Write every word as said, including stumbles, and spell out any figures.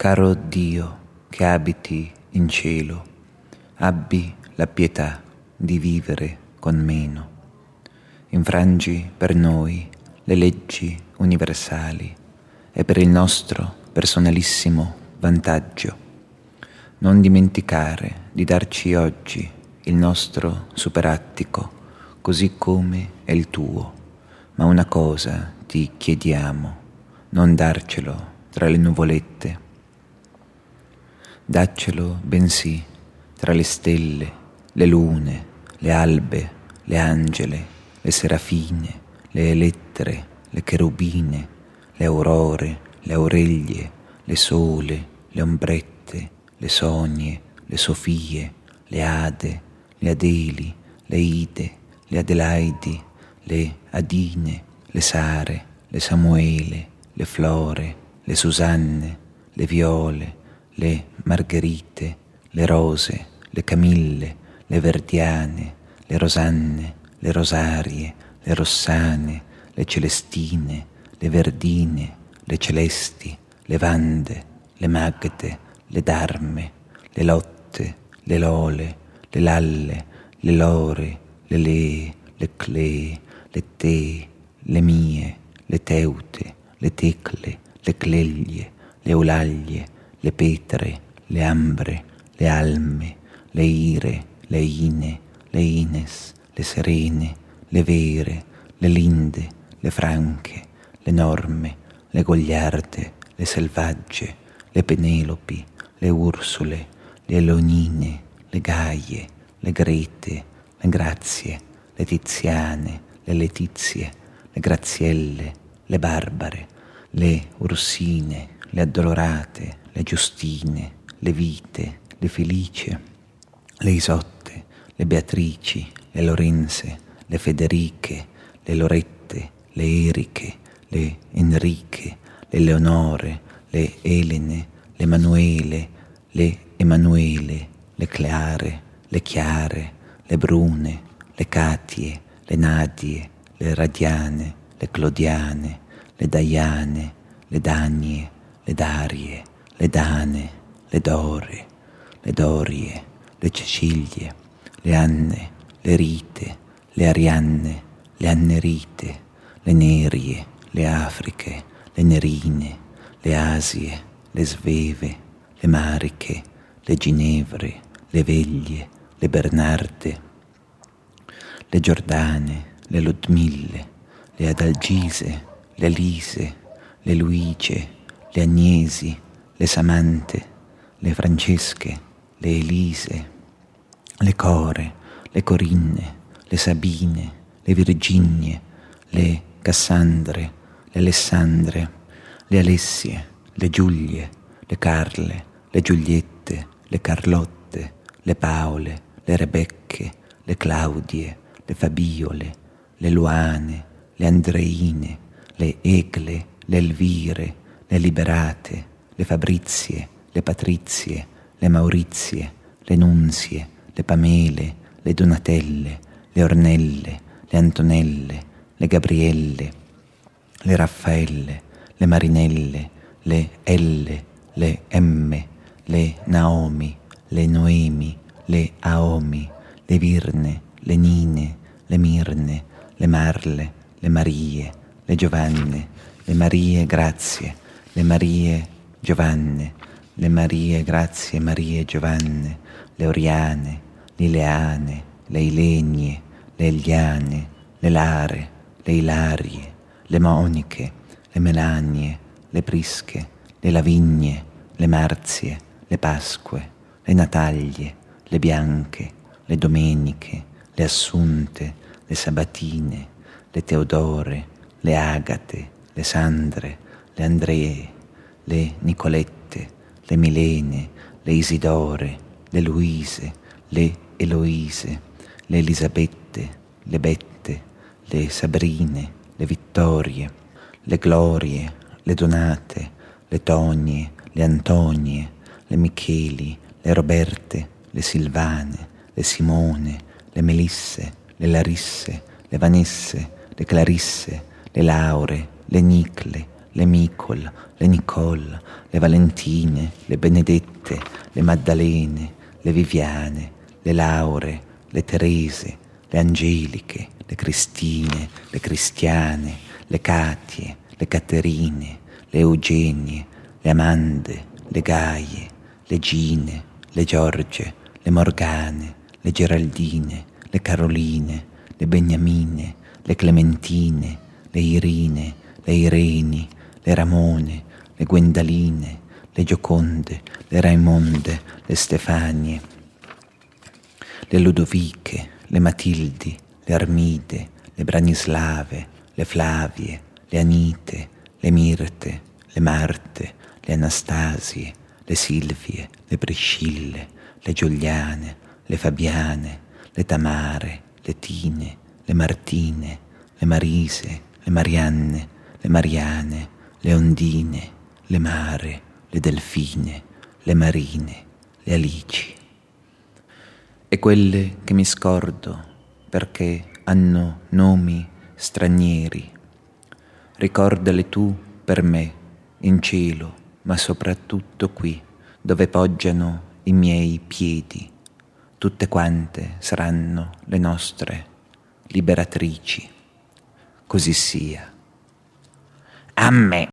Caro Dio che abiti in cielo, abbi la pietà di vivere con meno. Infrangi per noi le leggi universali e per il nostro personalissimo vantaggio. Non dimenticare di darci oggi il nostro superattico, così come è il tuo, ma una cosa ti chiediamo, non darcelo tra le nuvolette. Daccelo bensì tra le stelle, le lune, le albe, le angele, le serafine, le elettere, le cherubine, le aurore, le aurelie, le sole, le ombrette, le sonie, le sofie, le ade, le adeli, le ide, le adelaidi, le adine, le sare, le samuele, le flore, le susanne, le viole, le margherite, le rose, le camille, le verdiane, le rosanne, le rosarie, le rossane, le celestine, le verdine, le celesti, le vande, le magde, le darme, le lotte, le lole, le lalle, le lore, le lee, le clee, le tee, le mie, le teute, le tecle, le cleglie, le eulaglie, le petre, le ambre, le alme, le ire, le ine, le ines, le serene, le vere, le linde, le franche, le norme, le gogliarde, le selvagge, le penelopi, le ursule, le elonine, le gaie, le grete, le grazie, le tiziane, le letizie, le grazielle, le barbare, le ursine, le addolorate, le giustine, le vite, le felice, le isotte, le beatrici, le lorenze, le federiche, le lorette, le eriche, le enriche, le leonore, le elene, le manuele, le emanuele, le cleare, le chiare, le brune, le catie, le nadie, le radiane, le clodiane, le daiane, le danie, le darie, le dane, le dore, le dorie, le cecilie, le anne, le rite, le arianne, le annerite, le nerie, le afriche, le nerine, le asie, le sveve, le mariche, le ginevre, le veglie, le bernarde, le giordane, le ludmille, le adalgise, le lise, le luigie, le agnesi, le samante, le francesche, le elise, le core, le corinne, le sabine, le virginie, le cassandre, le alessandre, le alessie, le giulie, le carle, le giuliette, le carlotte, le paole, le rebecche, le claudie, le fabiole, le luane, le andreine, le egle, le elvire, le liberate, le fabrizie, le patrizie, le maurizie, le nunzie, le pamele, le donatelle, le ornelle, le antonelle, le gabrielle, le raffaelle, le marinelle, le elle, le emme, le naomi, le noemi, le aomi, le virne, le nine, le mirne, le marle, le marie, le giovanne, le marie grazie, le marie giovanne, le marie grazie, marie giovanne, le oriane, le ileane, le ilenie, le eliane, le lare, le ilarie, le moniche, le melanie, le prische, le lavigne, le marzie, le pasque, le nataglie, le bianche, le domeniche, le assunte, le sabatine, le teodore, le agate, le sandre, le andree, le nicolette, le milene, le isidore, le luise, le eloise, le elisabette, le bette, le sabrine, le vittorie, le glorie, le donate, le tonie, le antonie, le micheli, le roberte, le silvane, le simone, le melisse, le larisse, le vanesse, le clarisse, le laure, le nicle, le Micol, le Nicole, le Valentine, le Benedette, le Maddalene, le Viviane, le Laure, le Terese, le Angeliche, le Cristine, le Cristiane, le Katie, le Caterine, le Eugenie, le Amande, le Gaie, le Gine, le Giorgie, le Morgane, le Geraldine, le Caroline, le Beniamine, le Clementine, le Irine, le Ireni, le Ramone, le Gwendaline, le Gioconde, le Raimonde, le Stefanie, le Ludoviche, le Matildi, le Armide, le Branislave, le Flavie, le Anite, le Mirte, le Marte, le Anastasie, le Silvie, le Priscille, le Giuliane, le Fabiane, le Tamare, le Tine, le Martine, le Marise, le Marianne, le Mariane, le Ondine, le Mare, le Delfine, le Marine, le Alici. E quelle che mi scordo perché hanno nomi stranieri, ricordale tu per me in cielo, ma soprattutto qui, dove poggiano i miei piedi. Tutte quante saranno le nostre liberatrici. Così sia. Amen.